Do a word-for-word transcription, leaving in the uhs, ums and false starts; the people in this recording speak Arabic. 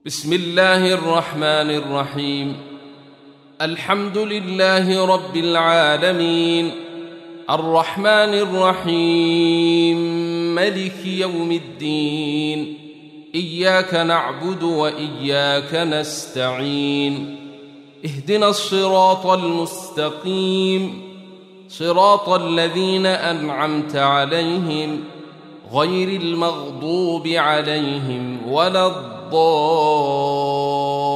بسم الله الرحمن الرحيم. الحمد لله رب العالمين، الرحمن الرحيم، ملك يوم الدين. إياك نعبد وإياك نستعين. اهدنا الصراط المستقيم، صراط الذين أنعمت عليهم غير المغضوب عليهم ولا الضالين.